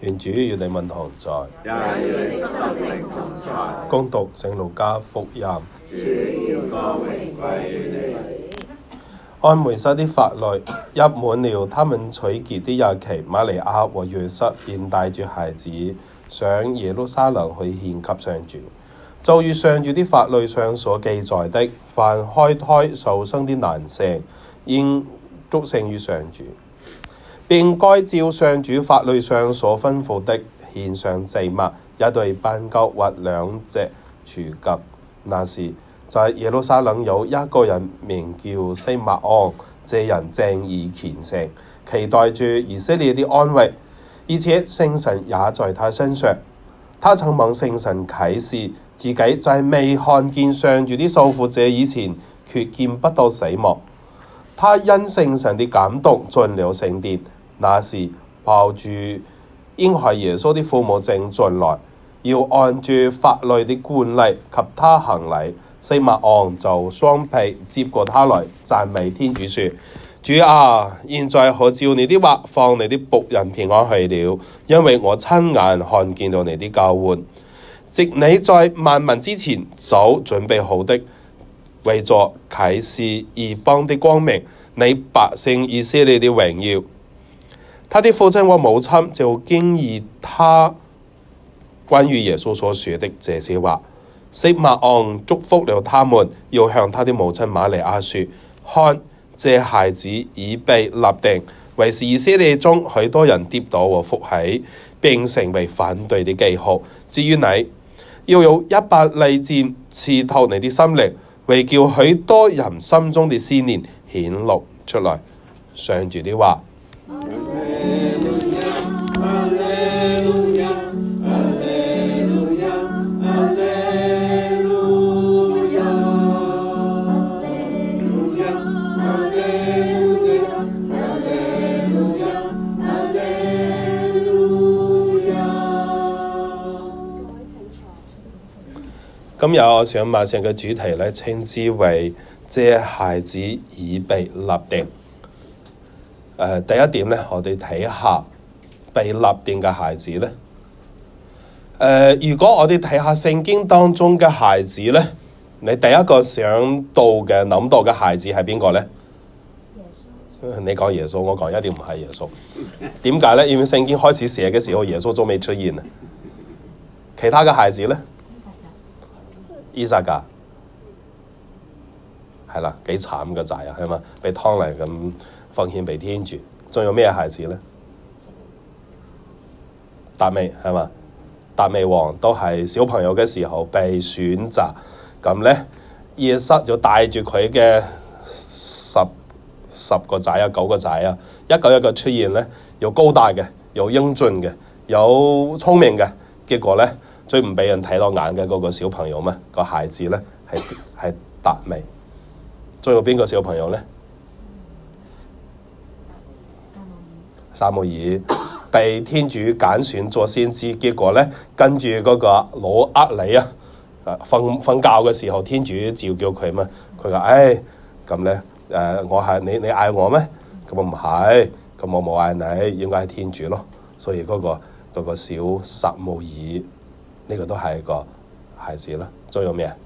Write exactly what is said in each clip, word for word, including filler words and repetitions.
願主與你們同在， 也與你心靈同在。 恭讀聖路加福音。 主要歌榮歸於你。 按梅瑟的法律，入滿了他們取潔的日期，瑪利亞和約瑟便帶住孩子上耶路撒冷去獻給上主。就如上主的法律上所記載的，凡開胎受生的男性，應祝聖於上主，並該照上主法律上所吩咐的獻上祭物，一對斑鳩或兩隻雛鴿。那時在耶路撒冷有一個人名叫西默盎，這人正義虔誠，期待住以色列的安慰，而且聖神也在他身上。他曾蒙聖神啟示，自己在未看見上主的受傅者以前，決見不到死亡。他因聖神的感動進了聖殿，那時抱住嬰孩耶穌的父母正進來，要按住法律的慣例給他行禮。西默盎就雙臂接過他來，讚美天主說：主啊，現在可照你的話放你的僕人平安去了，因為我親眼看見了你的救援，藉你在萬民之前早準備好的，為作啟示異邦的光明，你百姓以色列的榮耀。他的父親和母親就驚異他關於耶穌所說的這些話。西默盎祝福了他們，要向他的母親瑪利亞說：看，這孩子已被立定，為是以色列中許多人跌倒和復起，並成為反對的記號。至於你，要有一把利劍刺透你的心靈，為叫許多人心中的思念顯露出來。上主的話。今日我想馬上嘅主題咧，稱之為這孩子已被立定。誒、呃，第一點咧，我哋睇下被立定嘅孩子咧。誒、呃，如果我哋睇下聖經當中嘅孩子咧，你第一個想到嘅諗到嘅孩子係邊個咧？你講耶穌，我講一定唔係耶穌。點解咧？因為聖經開始寫嘅時候，耶穌仲未出現啊。其他嘅孩子咧？伊撒格係啦，幾慘嘅仔啊，係嘛？被湯嚟咁奉獻俾天主。仲有咩孩子咧？達味係嘛？達味王都係小朋友嘅時候被選擇，咁咧約瑟就帶住佢嘅十十個仔啊，九個仔啊，一個一個出現咧，又高大嘅，又英俊嘅，有聰明嘅，結果咧。最唔俾人睇到眼嘅嗰個小朋友咩？個孩子咧係係達味。仲有邊個小朋友咧？撒母耳被天主揀選做先知，結果咧跟住嗰個老厄里啊，瞓瞓覺嘅時候，天主召叫佢嘛，佢話：唉，咁咧誒，我係你你嗌我咩？咁我唔係，咁我冇嗌你，應該係天主咯。所以嗰個嗰個小撒母耳。呢個都係一個孩子啦，仲有咩啊？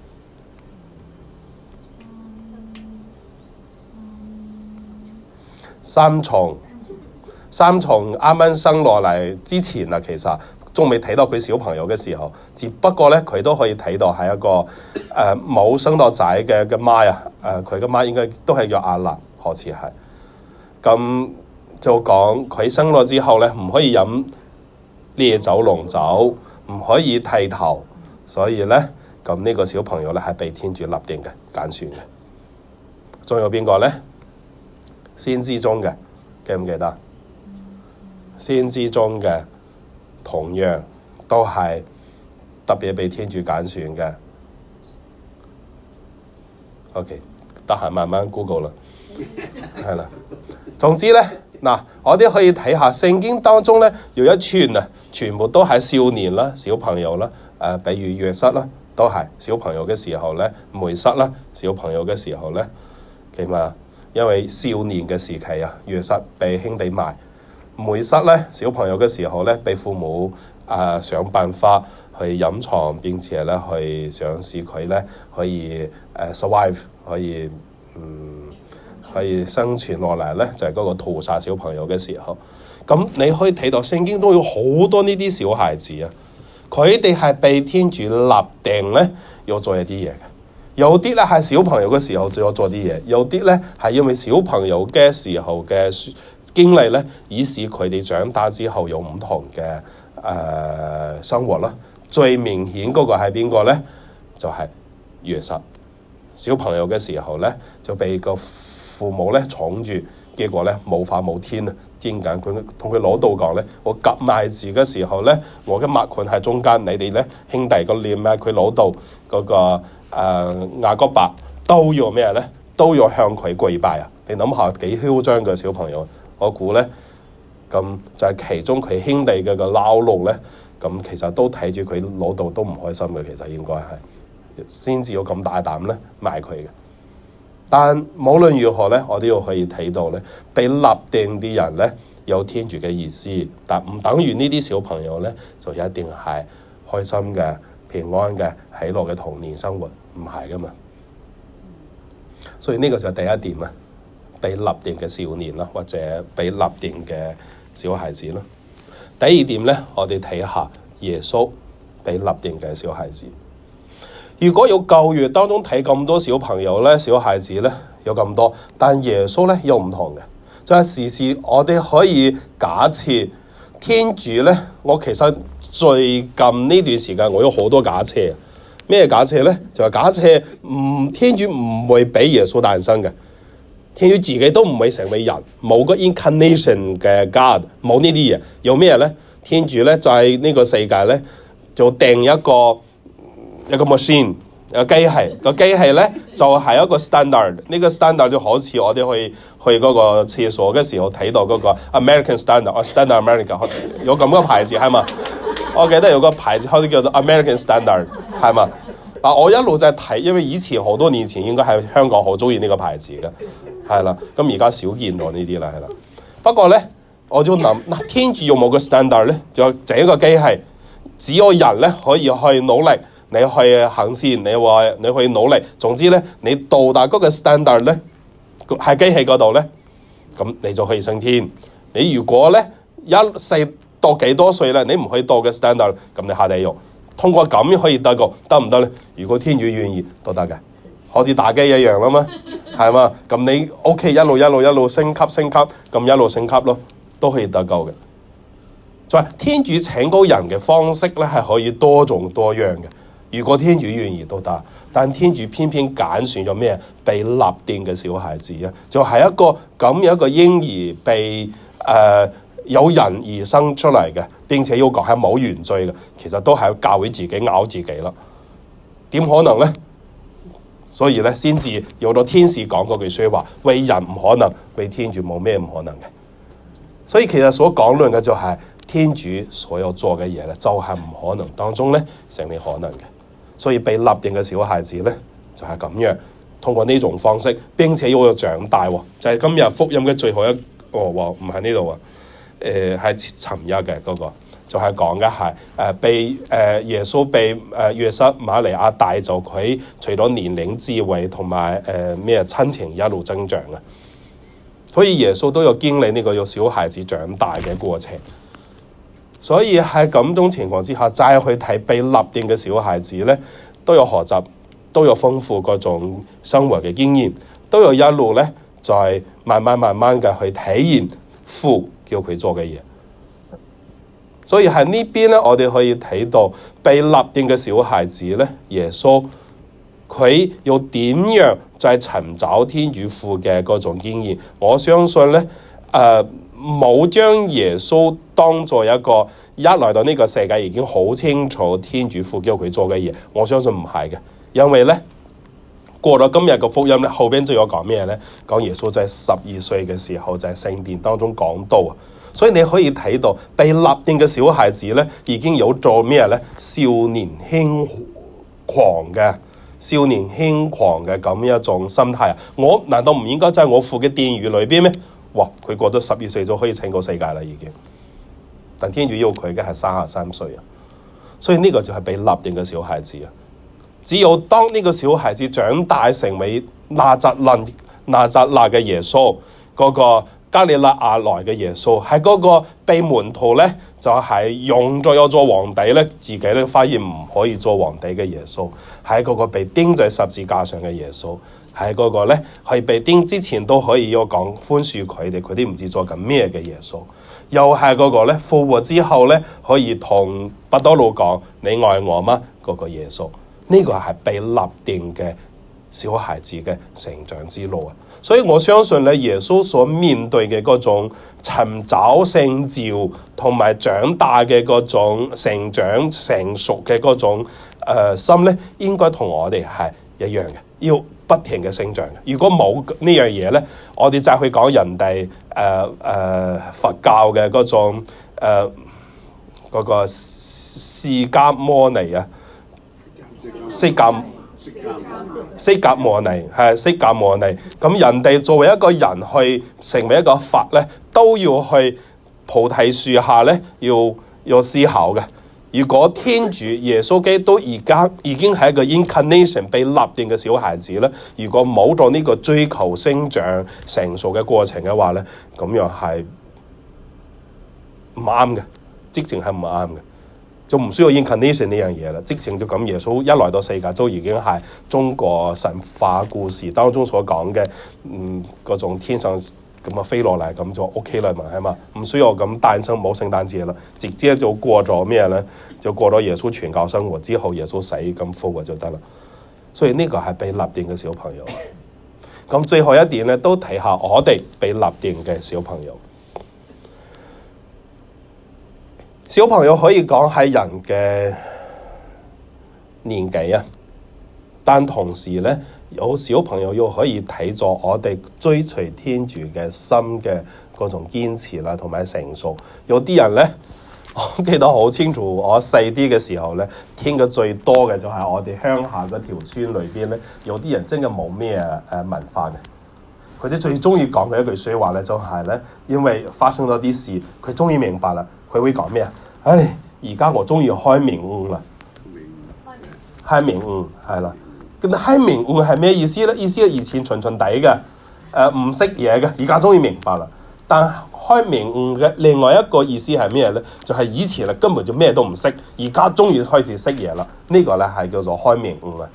三重，三重啱啱生落嚟之前啊，其實仲未睇到佢小朋友嘅時候，只不過咧佢都可以睇到係一個誒冇、呃、生到仔嘅嘅媽啊，誒佢嘅媽應該都係叫亞蘭，好似係。咁就講佢生咗之後咧，唔可以飲烈酒濃酒。唔可以剃頭，所以咧，咁呢個小朋友咧係被天主立定嘅揀選嘅。仲有邊個咧？先知中嘅，記唔記得？先知中嘅同樣都係特別被天主揀選嘅。OK，得閒慢慢 Google 啦，係啦。總之咧。嗱，我哋可以睇下聖經當中咧，有一串啊，全部都係少年啦、小朋友啦，誒、呃，比如約瑟啦，都係小朋友嘅時候咧；梅瑟啦，小朋友嘅時候咧，起碼因為少年嘅時期啊，約瑟被兄弟賣， 梅瑟咧小朋友嘅時候咧，被父母啊、呃、想辦法去隱藏，並且咧去想使佢咧可以誒、呃、survive， 可以嗯可以生存落嚟咧，就係、是、嗰個屠殺小朋友嘅時候。咁你可以睇到聖經都有好多呢啲小孩子啊，佢哋係被天主立定咧要做一啲嘢嘅。有啲咧係小朋友嘅時候就要做啲嘢，有啲咧係因為小朋友嘅時候嘅經歷咧，以使佢哋長大之後有唔同嘅誒、呃、生活啦。最明顯嗰個係邊個咧？就係、是、約瑟。小朋友嘅時候咧就被個父母咧寵住，結果咧冇法冇天啊！點解佢同佢老豆講咧？我夾埋字嘅時候咧，我嘅脈盤喺中間，你哋咧兄弟個臉啊，佢老豆嗰個。誒、呃、雅各伯都要咩咧？都要向佢跪拜啊！你諗下幾囂張嘅小朋友，我估咧咁就係其中佢兄弟嘅個撈路咧，咁其實都睇住佢老豆都唔開心嘅，其實應該係先至要咁大膽咧賣佢嘅。但無論如何咧，我都要可以睇到咧，被立定啲人咧有天主嘅意思，但唔等於呢啲小朋友咧就一定係開心嘅、平安嘅、喜樂嘅童年生活。唔係噶嘛，所以呢個就係第一點啦，被立定嘅少年啦，或者被立定嘅小孩子啦。第二點咧，我哋睇下耶穌被立定嘅小孩子。如果有舊約當中睇咁多小朋友咧、小孩子咧有咁多，但耶穌咧又唔同嘅，就係、是、時時我哋可以假設天主咧，我其實最近呢段時間我有好多假設。咩假設咧？就係、是、假設唔天主唔會俾耶穌誕生嘅，天主自己都唔會成為人，冇個 incarnation 嘅 God， 冇呢啲嘢。有咩咧？天主咧就喺、是、呢個世界咧就定一個一個 machine， 一個機器。個機器咧就係、是、一個 standard。呢個 standard 就好似我哋去去嗰個廁所嘅時候睇到嗰個 American standard，或 standard America 有咁個牌子係嘛？我記得有個牌子好似叫做 American standard。係嘛？啊！我一路就係睇，因為以前好多年前應該係香港好中意呢個牌子嘅，係啦。咁而家少見到呢啲啦，係啦。不過咧，我就諗嗱，天主有冇個 standard 咧？就這一個機器，只有人咧可以去努力，你去行善，你話你去努力。總之咧，你到達嗰個 standard 咧，喺機器嗰度咧，咁你就可以升天。你如果咧一世到幾多歲咧，你唔可以到嘅 standard， 咁你下地獄。通過咁樣可以得個得唔得咧？如果天主願意都得嘅，好似打機一樣啦嘛，係嘛？咁你 OK 一路一路一路升級升級，咁一路升級咯，都可以得夠嘅。就係天主請高人嘅方式咧，係可以多種多樣嘅。如果天主願意都得，但天主偏偏揀選咗咩？被立定嘅小孩子啊，就係、是、一個咁樣一個嬰兒被誒。呃有人而生出嚟嘅，並且要講係冇原罪嘅，其實都係教會自己咬自己啦。點可能咧？所以咧，先至有咗天使講嗰句説話：為人唔可能，為天主冇咩唔可能嘅。所以其實所講論嘅就係、是、天主所有做嘅嘢咧，就係、是、唔可能當中咧成為可能嘅。所以被立定嘅小孩子咧，就係、是、咁樣通過呢種方式，並且要長大喎。就係、是、今日福音嘅最後一個喎，唔喺呢度啊。誒係尋日嘅嗰個，就係講嘅係誒被誒、呃、耶穌被誒、呃、約瑟瑪利亞帶走佢，除咗年齡、智慧同埋誒咩親情一路增長啊，所以耶穌都有經歷呢個有小孩子長大嘅過程。所以喺咁種情況之下，再去睇被立定嘅小孩子咧，都有學習，都有豐富嗰種生活嘅經驗，都有一路咧，就係、是、慢慢慢慢嘅去體驗父叫佢做嘅嘢，所以喺呢邊咧，我哋可以睇到被立定嘅小孩子咧，耶穌佢要點樣就係尋找天主父嘅嗰種經驗。我相信咧，誒冇將耶穌當作一個一來到呢個世界已經好清楚天主父叫佢做嘅嘢。我相信唔係嘅，因為咧過咗今日嘅福音咧，後邊就有講咩咧？講耶穌就係十二歲嘅時候就係聖殿當中講道啊，所以你可以睇到被立定嘅小孩子咧，已經有做咩咧？少年輕狂嘅少年輕狂嘅咁一種心態啊！我難道唔應該在我父嘅殿宇裏邊咩？哇！ 佢過咗十二歲就可以拯救世界啦已經。但天主要佢嘅係三十三歲啊，所以呢個就係被立定嘅小孩子啊。只有當呢個小孩子長大成為納匝肋納匝肋嘅耶穌，嗰、那個加里肋亞來嘅耶穌，係嗰個被門徒咧就係、是、用咗有做皇帝咧，自己咧發現唔可以做皇帝嘅耶穌，係嗰個被釘在十字架上嘅耶穌，係嗰個咧係被釘之前都可以要講寬恕佢哋，佢哋唔知做緊咩嘅耶穌，又係嗰個咧復活之後咧可以同伯多祿講你愛我嗎？嗰、那個耶穌，呢、這個係被立定嘅小孩子嘅成長之路啊！所以我相信咧，耶穌所面對嘅嗰種尋找聖召同埋長大嘅嗰種成長成熟嘅嗰種誒、呃、心咧，應該同我哋係一樣嘅，要不停嘅成長嘅。如果冇呢樣嘢咧，我哋就去講人哋誒誒佛教嘅嗰種誒嗰、呃那個釋迦摩尼啊，釋迦。釋迦牟尼係釋迦牟尼，咁人哋作為一個人去成為一個佛咧，都要去菩提樹下咧，要要思考嘅。如果天主耶穌基督而家已經係一個 incarnation 被立定嘅小孩子咧，如果冇咗呢個追求生長成熟嘅過程嘅話咧，咁樣係唔啱嘅，直情係唔啱嘅。就唔需要 incarnation 呢樣嘢啦，直情就咁耶穌一來到世界都已經係中國神話故事當中所講嘅，嗯，嗰種天上咁啊飛落嚟咁就 OK 啦嘛，係嘛？唔需要咁誕生冇聖誕節啦，直接就過咗咩咧？就過咗耶穌傳教生活之後，耶穌死咁復活就得啦。所以呢個係被立定嘅小朋友。咁最後一點咧，都睇下我哋被立定嘅小朋友。小朋友可以講係人嘅年紀啊，但同時咧，有小朋友又可以睇咗我哋追隨天主嘅心嘅嗰種堅持啦，同埋成熟。有啲人咧，我記得好清楚，我細啲嘅時候咧，聽嘅最多嘅就係我哋鄉下嗰條村裏邊咧，有啲人真係冇咩誒文化嘅，佢哋最中意講嘅一句說話咧，就係咧，因為發生咗啲事，佢終於明白啦。佢會講咩啊？唉，而家我終於開明悟啦！開明悟係啦，咁開明悟係咩意思咧？意思係以前蠢蠢地嘅，誒唔識嘢嘅，而家終於明白啦。但開明悟嘅另外一個意思係咩咧？就係、是、以前啊根本就咩都唔識，而家終於開始識嘢啦。這個、呢個咧係叫做開明悟啊。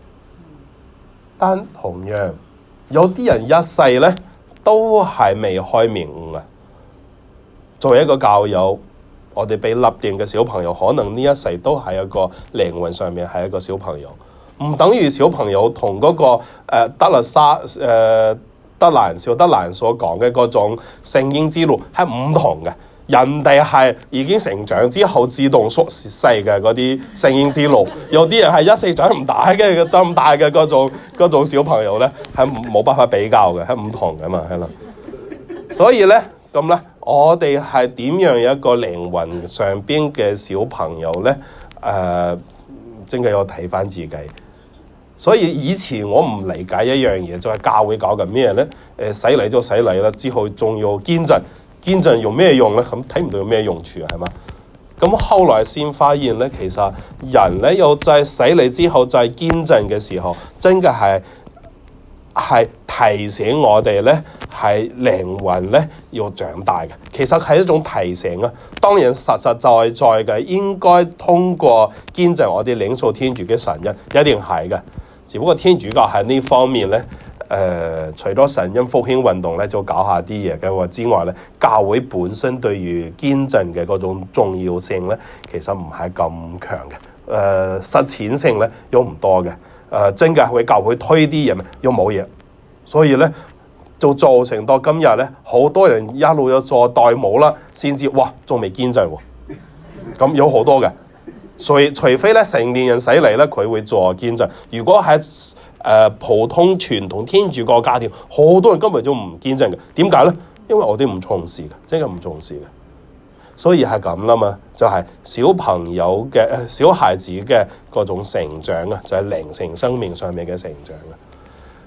但同樣有啲人一世咧都係未開明悟啊。作為一個教友，我哋被立定嘅小朋友，可能呢一世都係一個靈魂上面係一個小朋友，唔等於小朋友同嗰、那個誒、呃、德勒沙誒、呃、德蘭小德蘭所講嘅嗰種聖嬰之路係唔同嘅。人哋係已經成長之後自動縮細嘅嗰啲聖嬰之路，有啲人係一世長唔大嘅咁大嘅嗰種嗰種小朋友咧，係冇辦法比較嘅，係唔同嘅嘛，係啦。所以咧。咁咧，我哋係點樣一個靈魂上邊嘅小朋友咧？誒、呃，真係要睇翻自己。所以以前我唔理解一樣嘢，就係、是、教會搞緊咩咧？誒、呃，洗禮就洗禮啦，之後仲要堅振，堅振用咩用咧？咁睇唔到有咩用處啊？係嘛？咁後來先發現咧，其實人咧又在洗禮之後再堅振嘅時候，真嘅係。係提醒我哋咧，係靈魂咧要長大嘅。其實係一種提醒啊。當然實實在在嘅，應該通過堅振我哋領受天主嘅神恩，一定係嘅。只不過天主教喺呢方面咧，誒、呃，除咗神恩復興運動咧，就搞下啲嘢嘅話之外咧，教會本身對於堅振嘅嗰種重要性咧，其實唔係咁強嘅。誒、呃，實踐性咧又唔多嘅。誒、呃，真嘅會教會推啲嘢咩？又冇嘢，所以咧就造成到今日咧，好多人一路有做代母啦，先至哇，仲未堅振喎。咁有好多嘅，所以除非咧成年人洗禮咧，佢會做堅振。如果喺誒、呃、普通傳統天主教家庭，好多人根本就唔堅振嘅。點解咧？因為我哋唔重視嘅，真係唔重視嘅。所以係咁啦嘛，就係、是、小朋友嘅小孩子嘅嗰種成長啊，就係、是、靈性生命上面嘅成長啊。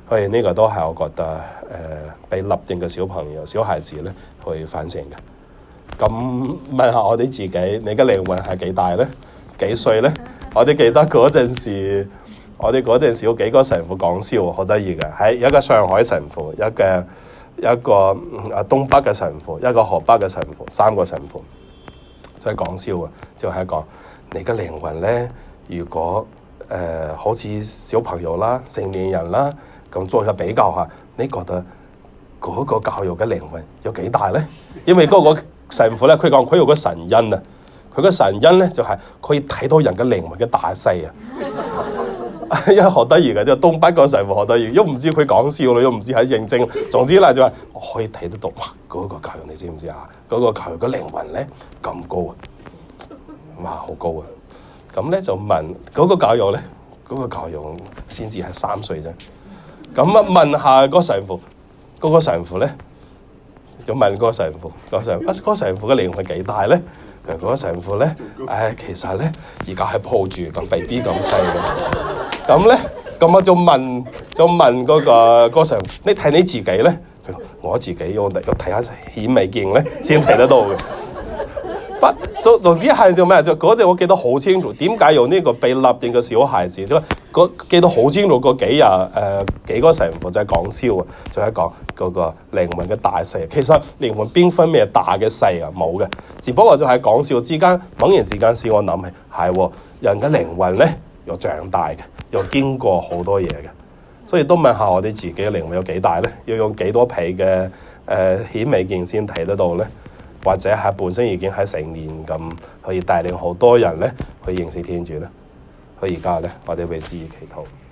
所以呢個都係我覺得誒、呃、被立定嘅小朋友、小孩子咧去反省嘅。咁問下我哋自己，你嘅靈魂係幾大咧？幾歲咧？我哋記得嗰陣時，我哋嗰陣時有幾個神父講笑，好得意嘅，係一個上海神父，一個一個啊東北嘅神父，一個河北嘅神父，三個神父，就係講笑啊，就係講你嘅靈魂咧，如果誒、呃、好似小朋友啦、成年人啦。咁做個比較下，你覺得嗰個教育嘅靈魂有幾大咧？因為嗰個神父咧，佢講佢有個神恩啊，佢個神恩咧就係、是、可以睇到人嘅靈魂嘅大細啊，因為好得意嘅，即係東北個神父好得意，又唔知佢講笑咯，又唔知係認真。總之咧就係、是、我可以睇得到，哇！嗰、那個教育你知唔知啊？嗰、那個教育嘅靈魂咧咁高啊，哇，好高啊！咁咧就問嗰、那個教育咧，嗰、那個教育先至係三歲啫。咁啊，問下個神父，嗰、那個神父咧就問個神父，個神啊，個神父嘅靈魂幾大咧？嗰、那個神父咧，誒、哎，其實咧而家係抱住咁 B B 咁細嘅。咁咧，咁我就問，就問嗰、那個、那個神父，你睇你自己咧？我自己要要睇下顯微鏡咧，先睇得到嘅。不，總總之係做咩？就嗰陣我記得好清楚，點解有呢個被立定嘅小孩子？就嗰記得好清楚嗰幾日誒、呃、幾個神父就係講笑啊，就係講嗰個靈魂嘅大細。其實靈魂邊分咩大嘅細啊？冇嘅，只不過就係講笑之間，猛然之間使我諗起係人嘅靈魂咧，又長大嘅，又經過好多嘢嘅，所以都問下我哋自己嘅靈魂有幾大咧？要用幾多倍嘅誒顯微鏡先睇得到咧？或者係本身已經喺成年咁，可以帶領好多人咧去認識天主咧。所以而家咧，我哋為之而祈禱。